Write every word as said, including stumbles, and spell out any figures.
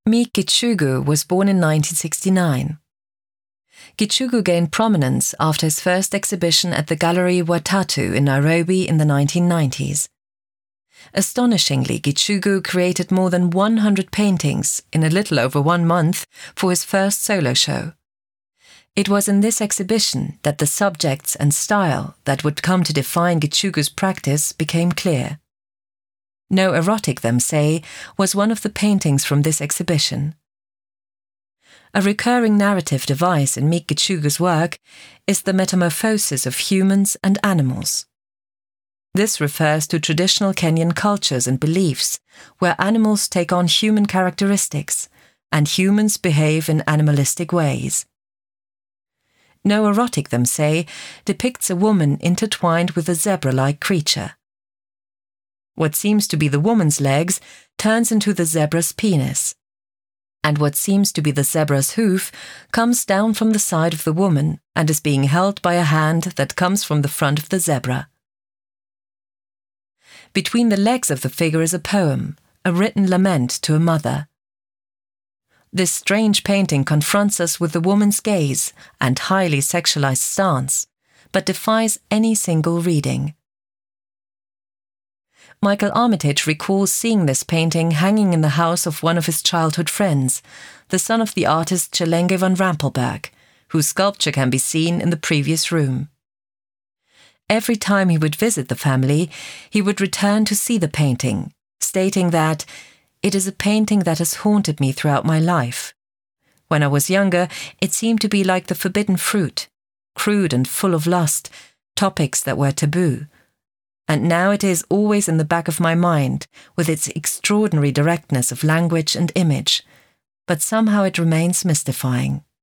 Mie Gichugu was born in nineteen sixty-nine. Gichugu gained prominence after his first exhibition at the Gallery Watatu in Nairobi in the nineteen nineties. Astonishingly, Gichugu created more than one hundred paintings in a little over one month for his first solo show. It was in this exhibition that the subjects and style that would come to define Gichugu's practice became clear. No Erotic, Them Say was one of the paintings from this exhibition. A recurring narrative device in Mie Gichugu's work is the metamorphosis of humans and animals. This refers to traditional Kenyan cultures and beliefs where animals take on human characteristics and humans behave in animalistic ways. No Erotic, Them Say depicts a woman intertwined with a zebra-like creature. What seems to be the woman's legs turns into the zebra's penis, and what seems to be the zebra's hoof comes down from the side of the woman and is being held by a hand that comes from the front of the zebra. Between the legs of the figure is a poem, a written lament to a mother. This strange painting confronts us with the woman's gaze and highly sexualized stance, but defies any single reading. Michael Armitage recalls seeing this painting hanging in the house of one of his childhood friends, the son of the artist Chelenge van Rampelberg, whose sculpture can be seen in the previous room. Every time he would visit the family, he would return to see the painting, stating that it is a painting that has haunted me throughout my life. When I was younger, it seemed to be like the forbidden fruit, crude and full of lust, topics that were taboo. And now it is always in the back of my mind, with its extraordinary directness of language and image, but somehow it remains mystifying.